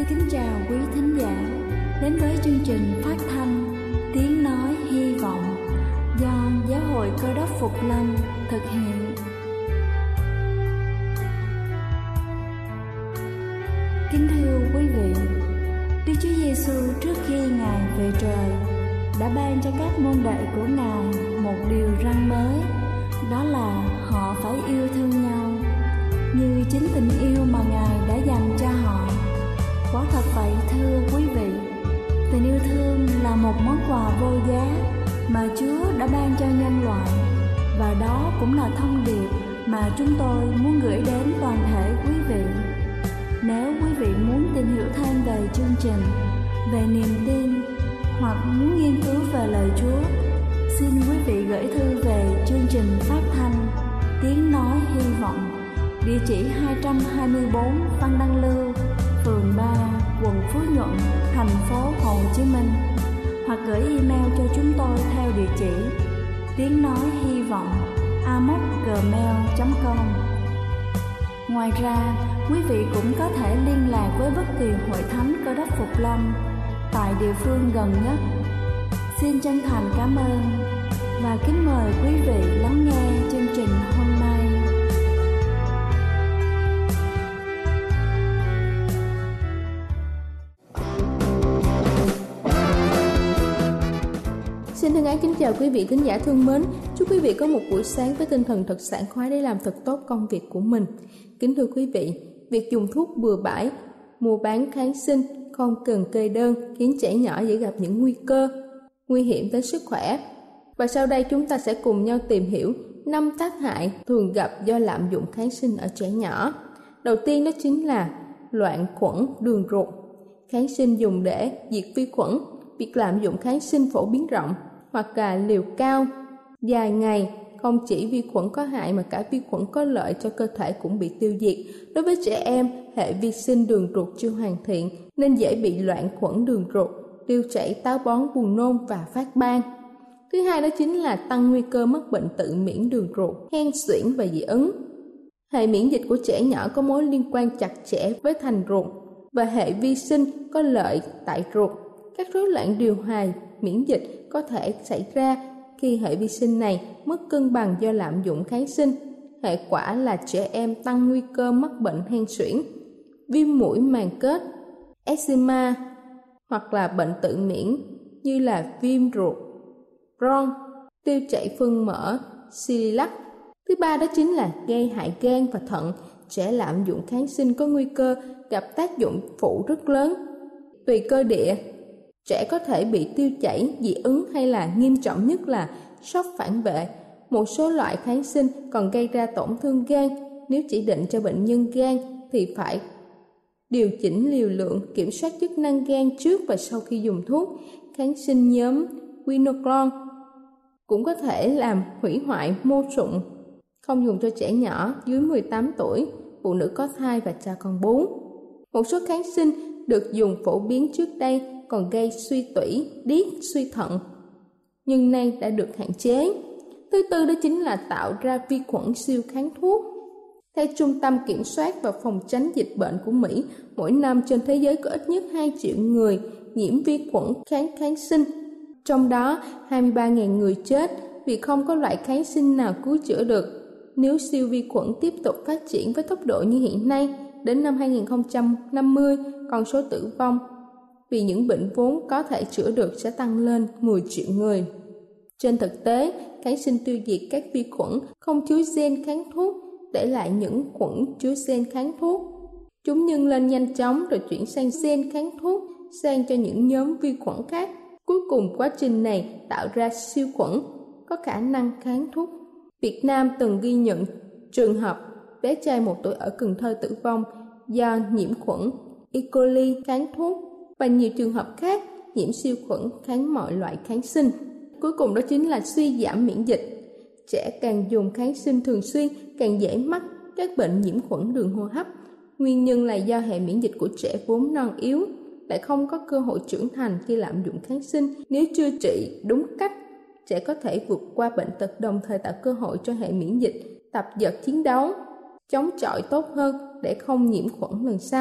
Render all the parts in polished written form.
kính chào quý thính giả đến với chương trình phát thanh Tiếng Nói Hy Vọng do Giáo hội Cơ Đốc Phục Lâm thực hiện. Kính thưa quý vị, Đức Chúa Giêsu trước khi Ngài về trời đã ban cho các môn đệ của Ngài một điều răn mới, đó là họ phải yêu thương nhau như chính tình yêu mà Ngài đã dành cho họ. Quả thật vậy thưa quý vị, tình yêu thương là một món quà vô giá mà Chúa đã ban cho nhân loại, và đó cũng là thông điệp mà chúng tôi muốn gửi đến toàn thể quý vị. Nếu quý vị muốn tìm hiểu thêm về chương trình, về niềm tin hoặc muốn nghiên cứu về lời Chúa, xin quý vị gửi thư về chương trình phát thanh Tiếng Nói Hy Vọng, địa chỉ 224 Văn Đăng Lưu, phường 3, quận Phú Nhuận, thành phố Hồ Chí Minh, hoặc gửi email cho chúng tôi theo địa chỉ tiếng nói hy vọng amos@gmail.com. Ngoài ra, quý vị cũng có thể liên lạc với bất kỳ hội thánh Cơ Đốc Phục Lâm tại địa phương gần nhất. Xin chân thành cảm ơn và kính mời quý vị lắng nghe chương trình hôm nay. Xin thân ái kính chào quý vị thính giả thương mến. Chúc quý vị có một buổi sáng với tinh thần thật sảng khoái để làm thật tốt công việc của mình. Kính thưa quý vị, việc dùng thuốc bừa bãi, mua bán kháng sinh không cần kê đơn khiến trẻ nhỏ dễ gặp những nguy cơ nguy hiểm đến sức khỏe. Và sau đây chúng ta sẽ cùng nhau tìm hiểu 5 tác hại thường gặp do lạm dụng kháng sinh ở trẻ nhỏ. Đầu tiên đó chính là loạn khuẩn đường ruột. Kháng sinh dùng để diệt vi khuẩn. Việc lạm dụng kháng sinh phổ biến rộng hoặc là liều cao dài ngày không chỉ vi khuẩn có hại mà cả vi khuẩn có lợi cho cơ thể cũng bị tiêu diệt. Đối với trẻ em, hệ vi sinh đường ruột chưa hoàn thiện nên dễ bị loạn khuẩn đường ruột, tiêu chảy, táo bón, buồn nôn và phát ban. Thứ hai đó chính là tăng nguy cơ mắc bệnh tự miễn đường ruột, hen suyễn và dị ứng. Hệ miễn dịch của trẻ nhỏ có mối liên quan chặt chẽ với thành ruột và hệ vi sinh có lợi tại ruột. Các rối loạn điều hòa miễn dịch có thể xảy ra khi hệ vi sinh này mất cân bằng do lạm dụng kháng sinh. Hệ quả là trẻ em tăng nguy cơ mắc bệnh hen suyễn, viêm mũi màng kết, eczema hoặc là bệnh tự miễn như là viêm ruột, Crohn, tiêu chảy phân mỡ, celiac. Thứ ba đó chính là gây hại gan và thận. Trẻ lạm dụng kháng sinh có nguy cơ gặp tác dụng phụ rất lớn. Tùy cơ địa, trẻ có thể bị tiêu chảy, dị ứng hay là nghiêm trọng nhất là sốc phản vệ. Một số loại kháng sinh còn gây ra tổn thương gan. Nếu chỉ định cho bệnh nhân gan thì phải điều chỉnh liều lượng, kiểm soát chức năng gan trước và sau khi dùng thuốc. Kháng sinh nhóm quinoclon cũng có thể làm hủy hoại mô sụn, không dùng cho trẻ nhỏ dưới 18 tuổi, phụ nữ có thai và cha con bú. Một số kháng sinh được dùng phổ biến trước đây còn gây suy tủy, điếc, suy thận, nhưng nay đã được hạn chế. Thứ tư đó chính là tạo ra vi khuẩn siêu kháng thuốc. Theo Trung tâm Kiểm soát và Phòng tránh dịch bệnh của Mỹ, mỗi năm trên thế giới có ít nhất 2 triệu người nhiễm vi khuẩn kháng sinh. Trong đó, 23.000 người chết vì không có loại kháng sinh nào cứu chữa được. Nếu siêu vi khuẩn tiếp tục phát triển với tốc độ như hiện nay, đến năm 2050, con số tử vong vì những bệnh vốn có thể chữa được sẽ tăng lên 10 triệu người. Trên thực tế, kháng sinh tiêu diệt các vi khuẩn không chứa gen kháng thuốc, để lại những khuẩn chứa gen kháng thuốc. Chúng nhân lên nhanh chóng rồi chuyển sang gen kháng thuốc, sang cho những nhóm vi khuẩn khác. Cuối cùng quá trình này tạo ra siêu khuẩn có khả năng kháng thuốc. Việt Nam từng ghi nhận trường hợp bé trai 1 tuổi ở Cần Thơ tử vong do nhiễm khuẩn E. coli kháng thuốc và nhiều trường hợp khác nhiễm siêu khuẩn kháng mọi loại kháng sinh. Cuối cùng đó chính là suy giảm miễn dịch. Trẻ càng dùng kháng sinh thường xuyên càng dễ mắc các bệnh nhiễm khuẩn đường hô hấp. Nguyên nhân là do hệ miễn dịch của trẻ vốn non yếu, lại không có cơ hội trưởng thành khi lạm dụng kháng sinh. Nếu chưa trị đúng cách, trẻ có thể vượt qua bệnh tật, đồng thời tạo cơ hội cho hệ miễn dịch tập dượt chiến đấu, chống chọi tốt hơn để không nhiễm khuẩn lần sau.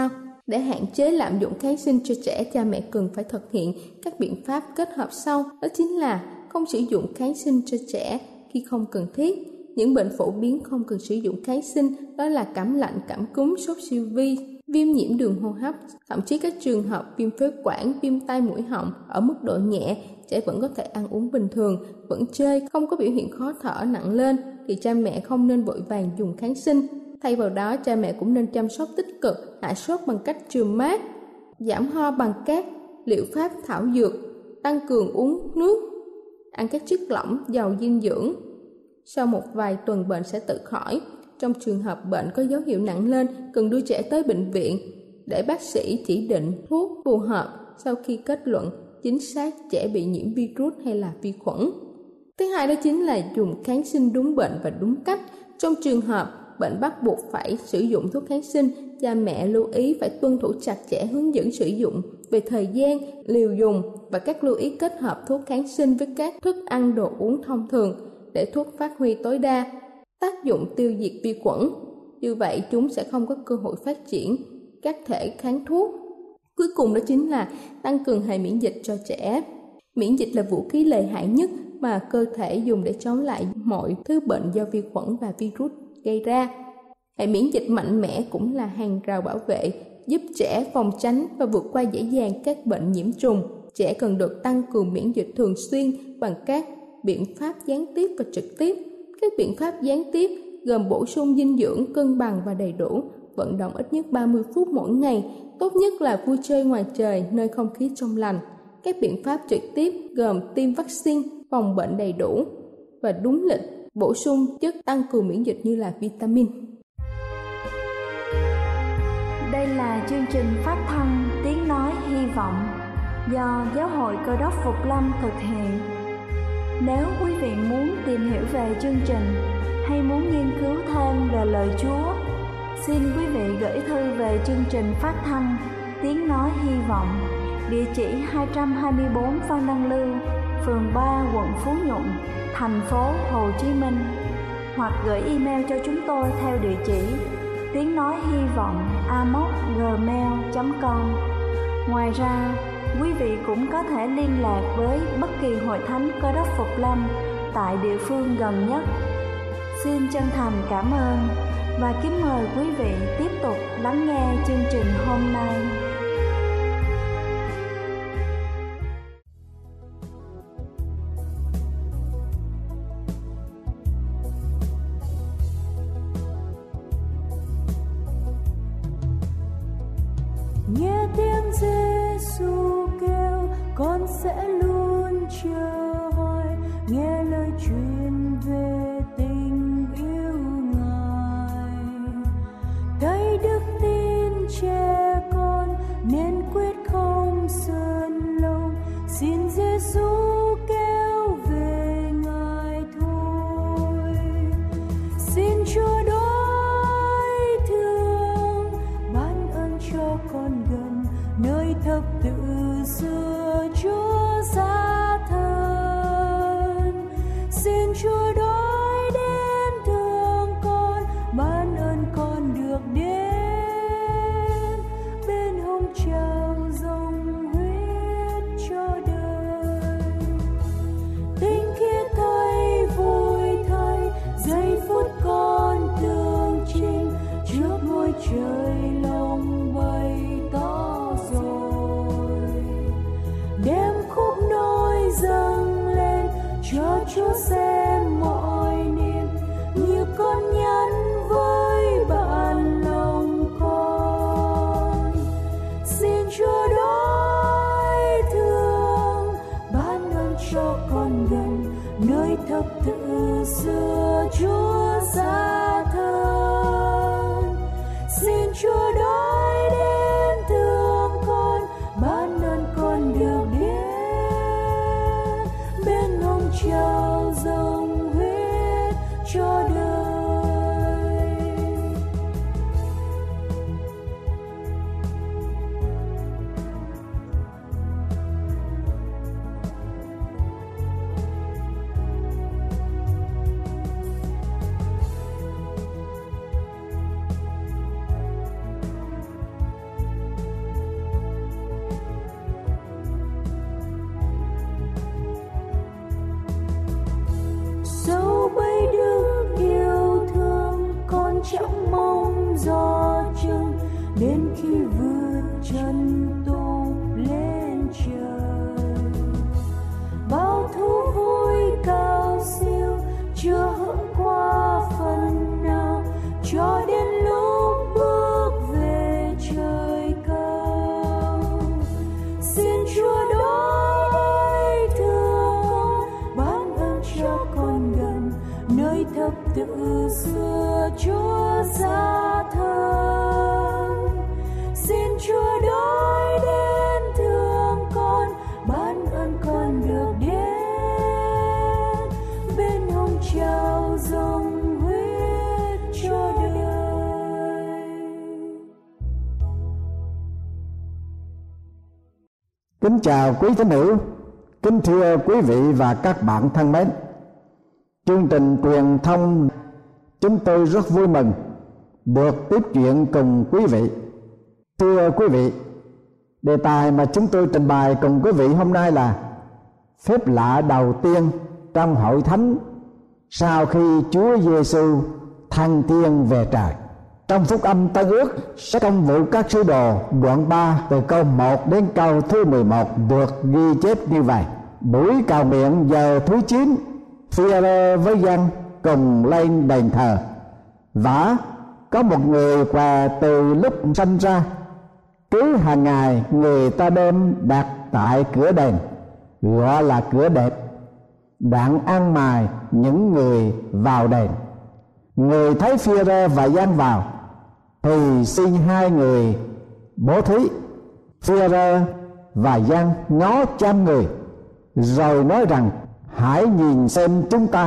Để hạn chế lạm dụng kháng sinh cho trẻ, cha mẹ cần phải thực hiện các biện pháp kết hợp sau. Đó chính là không sử dụng kháng sinh cho trẻ khi không cần thiết. Những bệnh phổ biến không cần sử dụng kháng sinh đó là cảm lạnh, cảm cúm, sốt siêu vi, viêm nhiễm đường hô hấp, thậm chí các trường hợp viêm phế quản, viêm tai mũi họng ở mức độ nhẹ, trẻ vẫn có thể ăn uống bình thường, vẫn chơi, không có biểu hiện khó thở nặng lên thì cha mẹ không nên vội vàng dùng kháng sinh. Thay vào đó, cha mẹ cũng nên chăm sóc tích cực, hạ sốt bằng cách chườm mát, giảm ho bằng các liệu pháp thảo dược, tăng cường uống nước, ăn các chất lỏng giàu dinh dưỡng. Sau một vài tuần bệnh sẽ tự khỏi. Trong trường hợp bệnh có dấu hiệu nặng lên, cần đưa trẻ tới bệnh viện để bác sĩ chỉ định thuốc phù hợp sau khi kết luận chính xác trẻ bị nhiễm virus hay là vi khuẩn. Thứ hai đó chính là dùng kháng sinh đúng bệnh và đúng cách. Trong trường hợp bệnh bắt buộc phải sử dụng thuốc kháng sinh, cha mẹ lưu ý phải tuân thủ chặt chẽ hướng dẫn sử dụng về thời gian, liều dùng và các lưu ý kết hợp thuốc kháng sinh với các thức ăn, đồ uống thông thường để thuốc phát huy tối đa tác dụng tiêu diệt vi khuẩn. Như vậy chúng sẽ không có cơ hội phát triển các thể kháng thuốc. Cuối cùng đó chính là tăng cường hệ miễn dịch cho trẻ. Miễn dịch là vũ khí lợi hại nhất mà cơ thể dùng để chống lại mọi thứ bệnh do vi khuẩn và virus gây ra. Hệ miễn dịch mạnh mẽ cũng là hàng rào bảo vệ giúp trẻ phòng tránh và vượt qua dễ dàng các bệnh nhiễm trùng. Trẻ cần được tăng cường miễn dịch thường xuyên bằng các biện pháp gián tiếp và trực tiếp. Các biện pháp gián tiếp gồm bổ sung dinh dưỡng cân bằng và đầy đủ, vận động ít nhất 30 phút mỗi ngày, tốt nhất là vui chơi ngoài trời nơi không khí trong lành. Các biện pháp trực tiếp gồm tiêm vaccine, phòng bệnh đầy đủ và đúng lịch, bổ sung chất tăng cường miễn dịch như là vitamin. Đây là chương trình phát thanh Tiếng Nói Hy Vọng do Giáo hội Cơ đốc Phục Lâm thực hiện. Nếu quý vị muốn tìm hiểu về chương trình hay muốn nghiên cứu thêm về lời Chúa, xin quý vị gửi thư về chương trình phát thanh Tiếng Nói Hy Vọng, địa chỉ 224 Phan Đăng Lưu, phường 3, quận Phú Nhuận, thành phố Hồ Chí Minh, hoặc gửi email cho chúng tôi theo địa chỉ tiếng nói hy vọng amos@gmail.com. Ngoài ra, quý vị cũng có thể liên lạc với bất kỳ hội thánh Cơ đốc Phục Lâm tại địa phương gần nhất. Xin chân thành cảm ơn và kính mời quý vị tiếp tục lắng nghe chương trình hôm nay. Nghe tiếng Giê-xu kêu, con sẽ luôn chờ hỏi, nghe lời truyền về tình yêu Ngài. Thấy đức tin trẻ con nên quyết không sơn lòng, xin Giê-xu kêu về Ngài thôi. Xin Chúa đối thương ban ơn cho con gần nơi thập tự xưa Chúa ra thân. Xin Chúa đối đến thương con, ban ơn con được đến bên hông trao dòng huyết cho đời. Tinh khiết thay vui thay giây phút con tương trình trước ngôi trời lòng bày tỏ rồi. Đem khúc nối dâng lên cho Chúa xem mọi niềm, như con nhắn với bạn lòng con. Xin Chúa đối thương ban ơn cho con gần nơi thập tự xưa Chúa ra thân. Xin Chúa đối đến thương con, ban ơn con được đến bên hông trao dòng huyết cho đời. xưa Chúa xa thời. Xin Chúa đói đến thương con, ban ơn con được đến bên hông trao dòng huyết cho đời. Kính chào quý thính hữu, kính thưa quý vị và các bạn thân mến. Chương trình truyền thông chúng tôi rất vui mừng được tiếp chuyện cùng quý vị. Thưa quý vị, đề tài mà chúng tôi trình bày cùng quý vị hôm nay là phép lạ đầu tiên trong hội thánh sau khi Chúa Giêsu thăng thiên về trời. Trong Phúc Âm Tân Ước, sách Công vụ các sứ đồ đoạn 3 từ câu 1 đến câu thứ 11 được ghi chép như vậy: buổi cầu nguyện giờ thứ 9, Phi-e-rơ với Giăng cùng lên đền thờ. Vả có một người què từ lúc sanh ra, cứ hàng ngày người ta đem đặt tại cửa đền, gọi là cửa đẹp, đặng ăn mài những người vào đền. Người thấy Phi-e-rơ và Giăng vào thì xin hai người bố thí. Phi-e-rơ và Giăng ngó chăm người, rồi nói rằng: hãy nhìn xem chúng ta.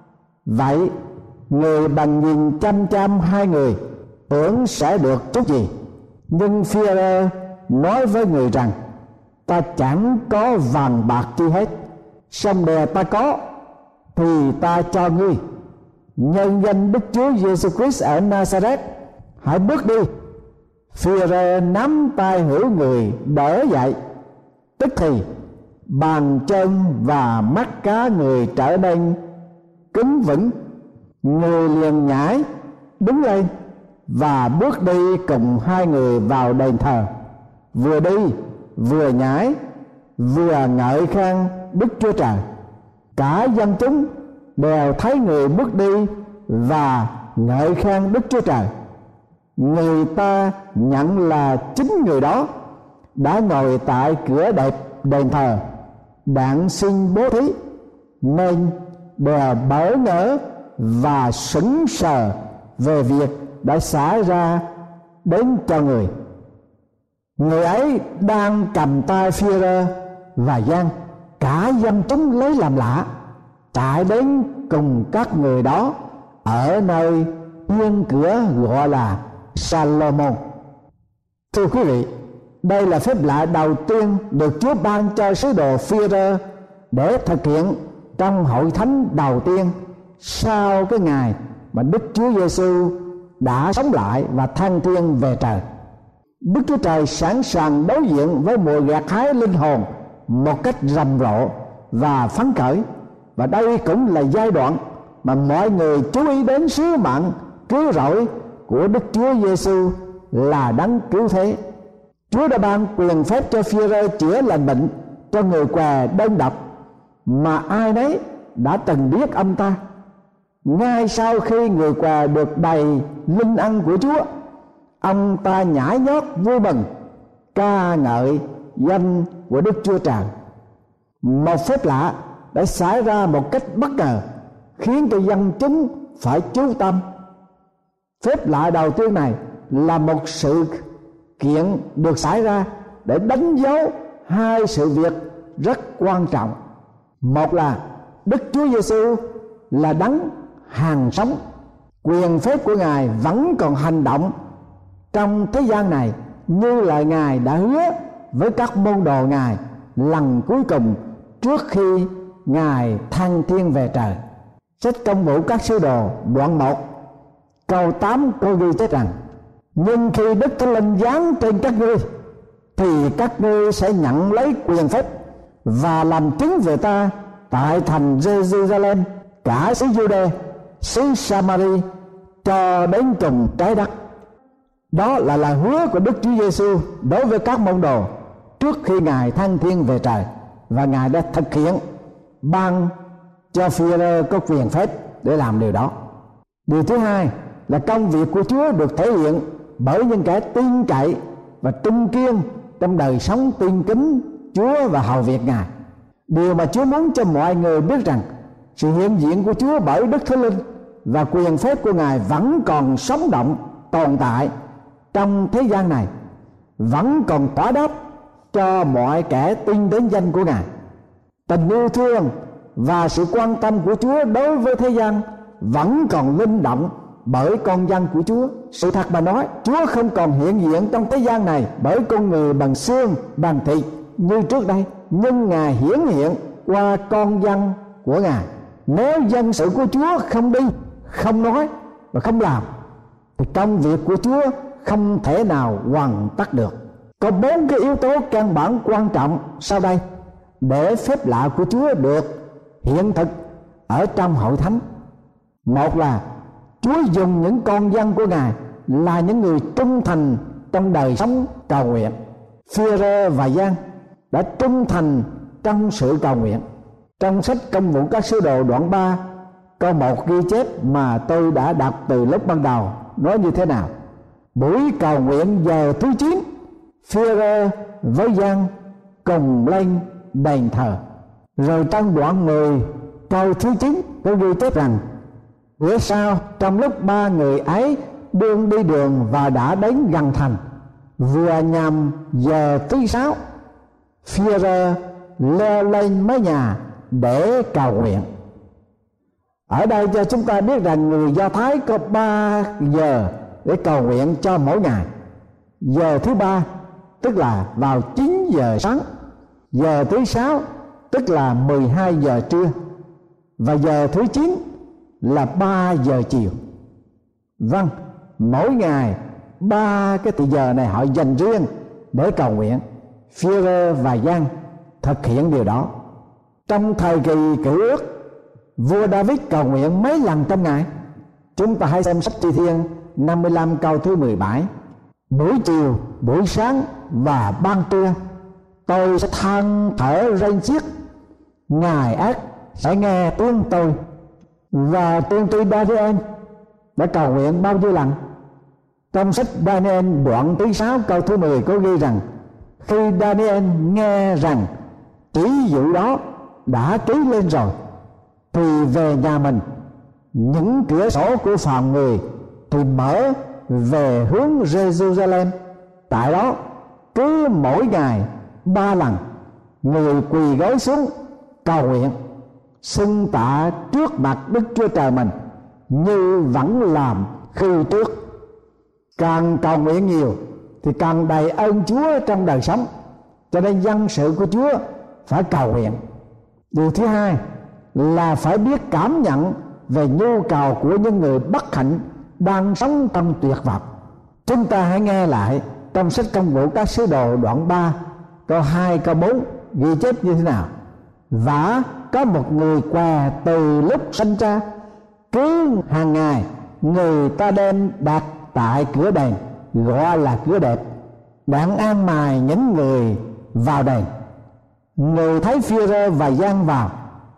Vậy người bằng nhìn chăm chăm hai người, tưởng sẽ được chút gì. Nhưng Phi-e-rơ nói với người rằng: ta chẳng có vàng bạc chi hết, song đè ta có thì ta cho ngươi. Nhân danh Đức Chúa Giêsu Christ ở Nazareth, hãy bước đi. Phi-e-rơ nắm tay hữu người đỡ dậy, tức thì bàn chân và mắt cá người trở nên cứng vững. Người liền nhảy đứng lên và bước đi cùng hai người vào đền thờ, vừa đi vừa nhảy vừa ngợi khen Đức Chúa Trời. Cả dân chúng đều thấy người bước đi và ngợi khen Đức Chúa Trời. Người ta nhận là chính người đó đã ngồi tại cửa đẹp đền thờ đặng xin bố thí, nên đều bỡ ngỡ và sững sờ về việc đã xảy ra đến cho người. Người ấy đang cầm tay Phi-e-rơ và Giăng, cả dân chúng lấy làm lạ, chạy đến cùng các người đó ở nơi yên cửa gọi là Salomon. Thưa quý vị, đây là phép lạ đầu tiên được Chúa ban cho sứ đồ Phi-e-rơ để thực hiện trong hội thánh đầu tiên sau cái ngày mà Đức Chúa Giêsu đã sống lại và thăng thiên về trời. Đức Chúa Trời sẵn sàng đối diện với mùa gặt hái linh hồn một cách rầm rộ và phấn khởi, và đây cũng là giai đoạn mà mọi người chú ý đến sứ mạng cứu rỗi của Đức Chúa Giêsu là đấng cứu thế. Chúa đã ban quyền phép cho Phi-e-rơ chữa lành bệnh cho người què đơn độc mà ai nấy đã từng biết ông ta. Ngay sau khi người què được đầy linh ân của Chúa, ông ta nhảy nhót vui mừng ca ngợi danh của Đức Chúa Trời. Một phép lạ đã xảy ra một cách bất ngờ, khiến cho dân chúng phải chú tâm. Phép lạ đầu tiên này là một sự kiện được xảy ra để đánh dấu hai sự việc rất quan trọng. Một là Đức Chúa Giêsu là đấng hàng sống, quyền phép của Ngài vẫn còn hành động trong thế gian này như là Ngài đã hứa với các môn đồ Ngài lần cuối cùng trước khi Ngài thăng thiên về trời. Sách Công vụ các sứ đồ đoạn 1 câu 8 có ghi chép rằng: nhưng khi Đức Thánh Linh giáng trên các ngươi thì các ngươi sẽ nhận lấy quyền phép và làm chứng về ta tại thành Jerusalem, cả xứ Giu-đê, xứ Sa-ma-ri, cho đến cùng trái đất. Đó là lời hứa của Đức Chúa Giêsu đối với các môn đồ trước khi Ngài thăng thiên về trời, và Ngài đã thực hiện ban cho Phi-e-rơ có quyền phép để làm điều đó. Điều thứ hai là công việc của Chúa được thể hiện bởi những kẻ tin cậy và trung kiên trong đời sống tin kính Chúa và hầu việc Ngài. Điều mà Chúa muốn cho mọi người biết rằng sự hiện diện của Chúa bởi Đức Thánh Linh và quyền phép của Ngài vẫn còn sống động tồn tại trong thế gian này, vẫn còn tỏa đáp cho mọi kẻ tin đến danh của Ngài. Tình yêu thương và sự quan tâm của Chúa đối với thế gian vẫn còn linh động bởi con dân của Chúa. Sự thật mà nói, Chúa không còn hiện diện trong thế gian này bởi con người bằng xương bằng thịt như trước đây, nhưng Ngài hiển hiện qua con dân của Ngài. Nếu dân sự của Chúa không đi, không nói và không làm, thì công việc của Chúa không thể nào hoàn tất được. Có 4 cái yếu tố căn bản quan trọng sau đây để phép lạ của Chúa được hiện thực ở trong hội thánh. Một là Chúa dùng những con dân của Ngài là những người trung thành trong đời sống cầu nguyện. Phi-e-rơ và Giăng đã trung thành trong sự cầu nguyện. Trong sách Công vụ các sứ đồ đoạn 3 có một ghi chép mà tôi đã đọc từ lúc ban đầu, nói như thế nào: buổi cầu nguyện giờ thứ 9, Phi-e-rơ với Giăng cùng lên đền thờ. Rồi trong đoạn 10 câu thứ 9 có ghi chép rằng: bữa sau, trong lúc 3 người ấy đương đi đường và đã đến gần thành, vừa nhằm giờ thứ 6, Phi-e-rơ leo lên mái nhà để cầu nguyện. Ở đây cho chúng ta biết rằng người Do Thái có 3 giờ để cầu nguyện cho mỗi ngày. Giờ thứ 3 tức là vào 9 giờ sáng, giờ thứ 6 tức là 12 giờ trưa, và giờ thứ 9 là 3 giờ chiều. Vâng, mỗi ngày 3 cái thời giờ này họ dành riêng để cầu nguyện. Phi-e-rơ và Giăng thực hiện điều đó. Trong thời kỳ Cựu Ước, vua David cầu nguyện mấy lần trong ngày? Chúng ta hãy xem sách Thi Thiên 55 câu thứ 17: buổi chiều, buổi sáng và ban trưa, tôi sẽ than thở rên xiết, Ngài ác sẽ nghe tiếng tôi. Và tiên tri Daniel đã cầu nguyện bao nhiêu lần? Trong sách Daniel đoạn thứ 6 câu thứ 10 có ghi rằng: khi Daniel nghe rằng chỉ dụ đó đã ký lên rồi, thì về nhà mình, những cửa sổ của phòng người thì mở về hướng Jerusalem. Tại đó cứ mỗi ngày 3 lần người quỳ gối xuống cầu nguyện, xưng tạ trước mặt Đức Chúa Trời mình như vẫn làm khi trước. Càng cầu nguyện nhiều thì càng đầy ơn Chúa trong đời sống, cho nên dân sự của Chúa phải cầu nguyện. Điều thứ hai là phải biết cảm nhận về nhu cầu của những người bất hạnh đang sống trong tuyệt vọng. Chúng ta hãy nghe lại trong sách Công vụ các sứ đồ đoạn 3 câu 2 câu 4 ghi chép như thế nào: và có một người què từ lúc sinh ra, cứ hàng ngày người ta đem đặt tại cửa đền, gọi là cửa đẹp, đặng an mài những người vào đền. Người thấy Phi-e-rơ và Giăng vào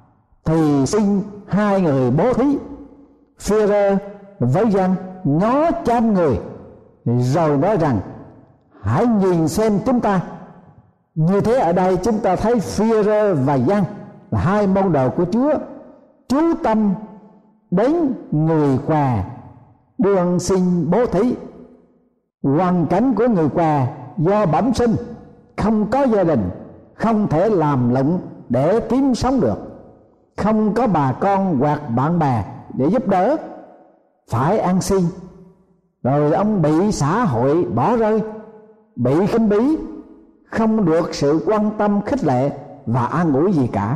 thì xin 2 người bố thí. Phi-e-rơ với Giăng ngó chăm người rồi nói rằng: hãy nhìn xem chúng ta. Như thế ở đây chúng ta thấy Phi-e-rơ và Giăng là 2 môn đồ của Chúa chú tâm đến người què đương xin bố thí. Hoàn cảnh của người què do bẩm sinh, không có gia đình, không thể làm lụng để kiếm sống được, không có bà con hoặc bạn bè để giúp đỡ, phải ăn xin. Rồi ông bị xã hội bỏ rơi, bị khinh bỉ, không được sự quan tâm khích lệ và an ủi gì cả.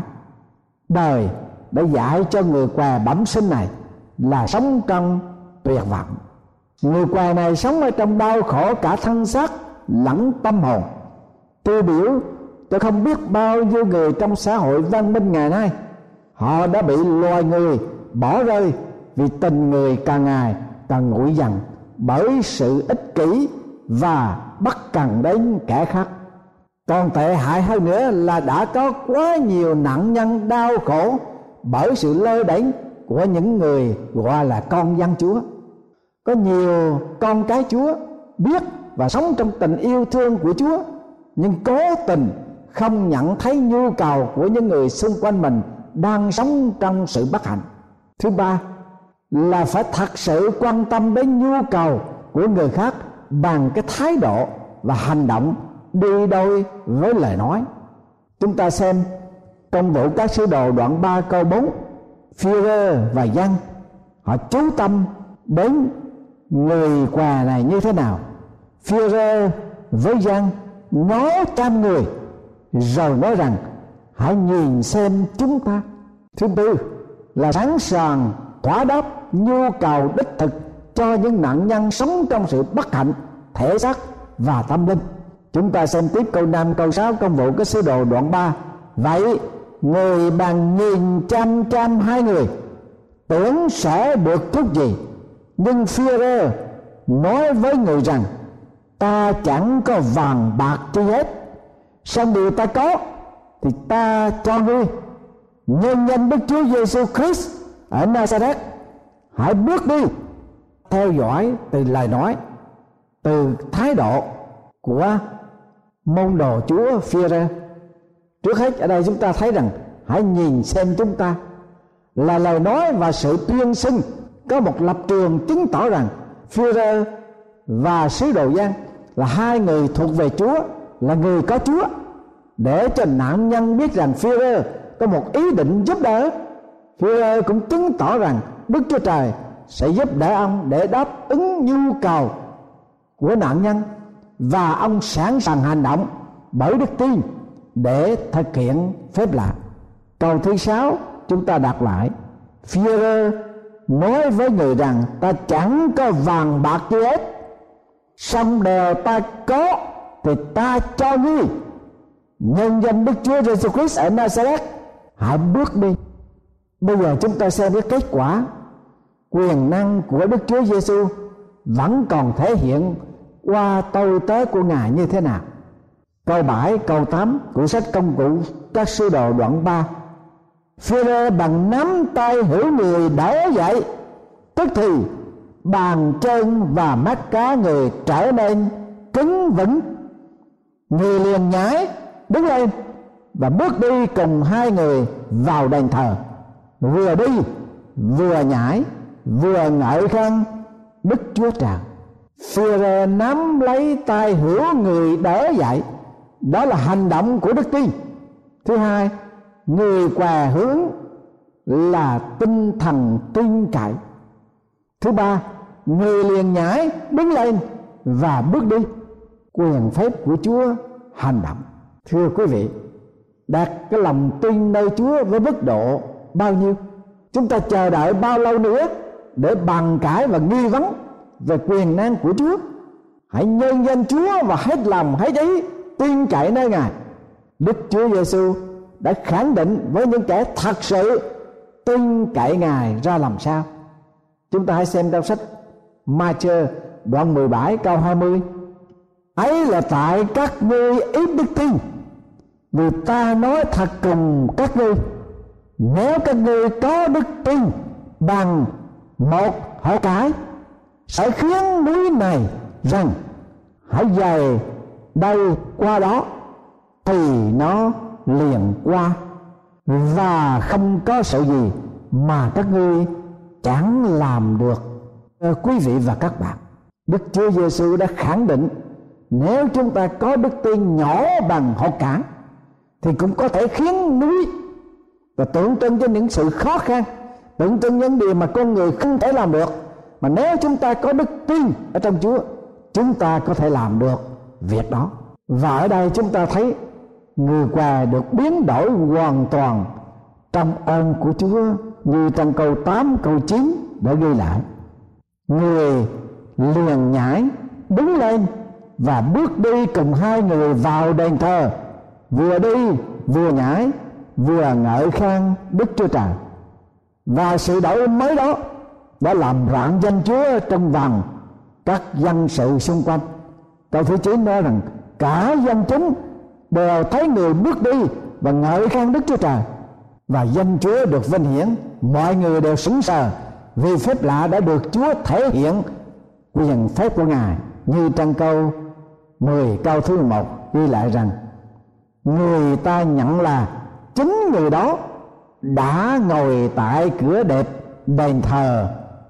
Đời đã dạy cho người què bẩm sinh này là sống trong tuyệt vọng. Người què này sống ở trong đau khổ cả thân xác lẫn tâm hồn. Tiêu biểu tôi không biết bao nhiêu người trong xã hội văn minh ngày nay, họ đã bị loài người bỏ rơi vì tình người càng ngày càng nguội dần bởi sự ích kỷ và bất cần đến kẻ khác. Còn tệ hại hơn nữa là đã có quá nhiều nạn nhân đau khổ bởi sự lơ đễnh của những người gọi là con dân Chúa. Có nhiều con cái Chúa biết và sống trong tình yêu thương của Chúa, nhưng cố tình không nhận thấy nhu cầu của những người xung quanh mình đang sống trong sự bất hạnh. Thứ ba là phải thật sự quan tâm đến nhu cầu của người khác bằng cái thái độ và hành động đi đôi với lời nói. Chúng ta xem Công vụ các sứ đồ đoạn 3 câu 4. Phi-rơ và Giăng họ chú tâm đến người què này như thế nào. Phi-rơ với Giăng ngó trăm người rồi nói rằng hãy nhìn xem chúng ta. Thứ tư là sẵn sàng thỏa đáp nhu cầu đích thực cho những nạn nhân sống trong sự bất hạnh thể xác và tâm linh. Chúng ta xem tiếp câu 5 câu 6 Công vụ các sứ đồ đoạn 3. Vậy người bằng nghìn trăm hai người tưởng sẽ được chút gì, nhưng Phi-rơ nói với người rằng ta chẳng có vàng bạc chi hết, song điều ta có thì ta cho ngươi. Nhân danh Đức Chúa Giêsu Christ ở Nazareth, hãy bước đi. Theo dõi từ lời nói, từ thái độ của môn đồ Chúa Phi-rơ. Trước hết ở đây chúng ta thấy rằng hãy nhìn xem chúng ta là lời nói và sự tuyên xưng có một lập trường chứng tỏ rằng Phi-rơ và sứ đồ Giăng là hai người thuộc về Chúa, là người có Chúa, để cho nạn nhân biết rằng Phi-rơ có một ý định giúp đỡ. Phi-rơ cũng chứng tỏ rằng Đức Chúa Trời sẽ giúp đỡ ông để đáp ứng nhu cầu của nạn nhân, và ông sẵn sàng hành động bởi đức tin để thực hiện phép lạ. Câu thứ 6 chúng ta đọc lại. Phi-rơ nói với người rằng ta chẳng có vàng bạc gì hết, song điều ta có thì ta cho ngươi. Nhân danh Đức Chúa Giêsu Christ ở Nazareth, hãy bước đi. Bây giờ chúng ta xem cái kết quả. Quyền năng của Đức Chúa Giêsu vẫn còn thể hiện qua tôi tớ của Ngài như thế nào. Câu 7 câu 8 của sách Công vụ các sứ đồ đoạn 3. Phi-rơ bằng nắm tay hữu người đỡ dậy, tức thì bàn chân và mắt cá người trở nên cứng vững. Người liền nhảy đứng lên và bước đi cùng hai người vào đền thờ, vừa đi vừa nhảy vừa ngợi khen Đức Chúa Trời. Phi-rơ nắm lấy tay hữu người đỡ dậy, đó là hành động của đức tin. Thứ hai, người què hướng là tinh thần tin cậy. Thứ ba, người liền nhảy đứng lên và bước đi, quyền phép của Chúa hành động. Thưa quý vị, đặt cái lòng tin nơi Chúa với mức độ bao nhiêu? Chúng ta chờ đợi bao lâu nữa để bàn cãi và nghi vấn về quyền năng của Chúa? Hãy nhân danh Chúa và hết lòng hết ý tin cậy nơi Ngài. Đức Chúa Giêsu đã khẳng định với những kẻ thật sự tin cậy Ngài ra làm sao. Chúng ta hãy xem trong sách Ma-chơ đoạn 17 câu 20. Ấy là tại các ngươi ít đức tin, vì ta nói thật cùng các ngươi, nếu các ngươi có đức tin bằng một hột cải, sẽ khiến núi này rằng hãy dời đây qua đó, thì nó liền qua, và không có sự gì mà các ngươi chẳng làm được. Quý vị và các bạn, Đức Chúa Giêsu đã khẳng định nếu chúng ta có đức tin nhỏ bằng hột cải thì cũng có thể khiến núi, và tượng trưng cho những sự khó khăn, tượng trưng những điều mà con người không thể làm được, mà nếu chúng ta có đức tin ở trong Chúa, chúng ta có thể làm được việc đó. Và ở đây chúng ta thấy người què được biến đổi hoàn toàn trong ơn của Chúa, như trong câu 8 câu 9 đã ghi lại. Người liền nhảy đứng lên và bước đi cùng hai người vào đền thờ, vừa đi vừa nhảy vừa ngợi khen Đức Chúa Trời. Và sự đổi mới đó đã làm rạng danh Chúa trong vòng các dân sự xung quanh. Câu thứ 9 nói rằng cả dân chúng đều thấy người bước đi và ngợi khen Đức Chúa Trời, và danh Chúa được vinh hiển. Mọi người đều sững sờ vì phép lạ đã được Chúa thể hiện quyền phép của Ngài, như trong câu 10 câu thứ 1 ghi lại rằng người ta nhận là chính người đó đã ngồi tại cửa đẹp đền thờ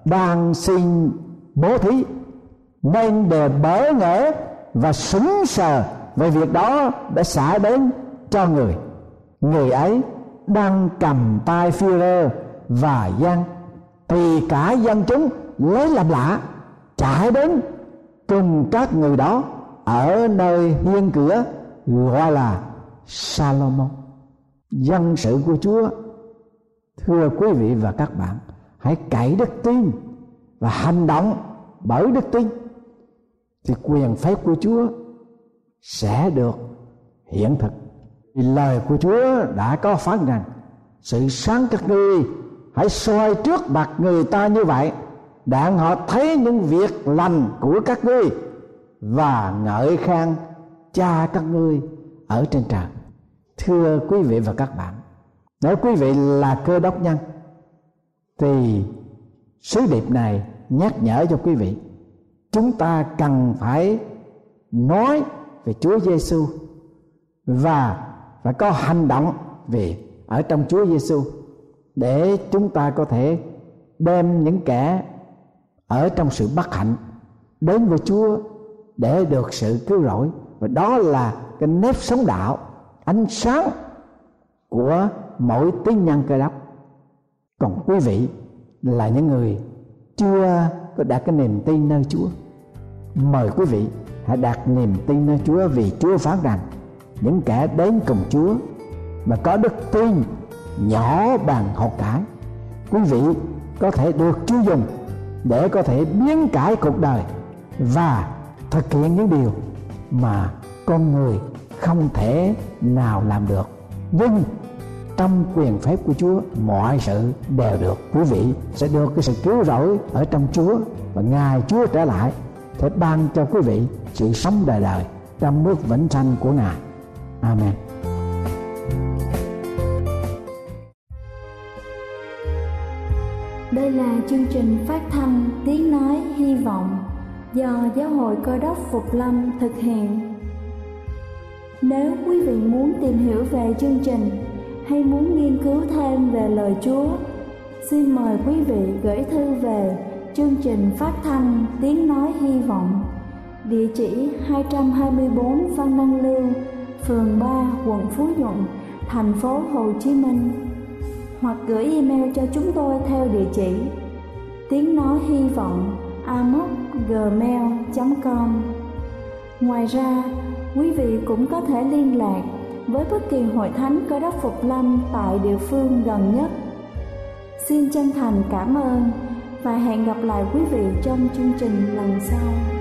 đang xin bố thí, nên đều bỡ ngỡ và sững sờ về việc đó đã xả đến cho người. Người ấy đang cầm tay Phi-rơ và Giăng, thì cả dân chúng lấy làm lạ, chạy đến cùng các người đó ở nơi hiên cửa gọi là Salomon. Dân sự của Chúa, thưa quý vị và các bạn, hãy cậy đức tin và hành động bởi đức tin, thì quyền phép của Chúa sẽ được hiện thực. Vì lời của Chúa đã có phán rằng: sự sáng các ngươi hãy soi trước mặt người ta như vậy, đặng họ thấy những việc lành của các ngươi và ngợi khen Cha các ngươi ở trên trời. Thưa quý vị và các bạn, nếu quý vị là Cơ Đốc nhân thì sứ điệp này nhắc nhở cho quý vị, chúng ta cần phải nói về Chúa Giêsu và phải có hành động về ở trong Chúa Giêsu, để chúng ta có thể đem những kẻ ở trong sự bất hạnh đến với Chúa để được sự cứu rỗi. Và đó là cái nếp sống đạo, ánh sáng của mỗi tín nhân Cơ Đốc. Còn quý vị là những người chưa có đặt cái niềm tin nơi Chúa, mời quý vị hãy đặt niềm tin nơi Chúa, vì Chúa phán rằng những kẻ đến cùng Chúa mà có đức tin nhỏ bằng hột cải, quý vị có thể được Chúa dùng để có thể biến cải cuộc đời và thực hiện những điều mà con người không thể nào làm được. Nhưng trong quyền phép của Chúa, mọi sự đều được. Quý vị sẽ được cái sự cứu rỗi ở trong Chúa, và ngày Chúa trở lại sẽ ban cho quý vị sự sống đời đời trong nước vĩnh sanh của Ngài. Amen. Đây là chương trình phát thanh Tiếng Nói Hy Vọng do Giáo hội Cơ Đốc Phục Lâm thực hiện. Nếu quý vị muốn tìm hiểu về chương trình hay muốn nghiên cứu thêm về lời Chúa, xin mời quý vị gửi thư về chương trình phát thanh Tiếng Nói Hy Vọng, địa chỉ 224 Phan Đăng Lưu, phường 3, quận Phú Nhuận, thành phố Hồ Chí Minh, hoặc gửi email cho chúng tôi theo địa chỉ tiếng nói hy vọng amos@gmail.com. Ngoài ra, quý vị cũng có thể liên lạc với bất kỳ hội thánh Cơ Đốc Phục Lâm tại địa phương gần nhất. Xin chân thành cảm ơn và hẹn gặp lại quý vị trong chương trình lần sau.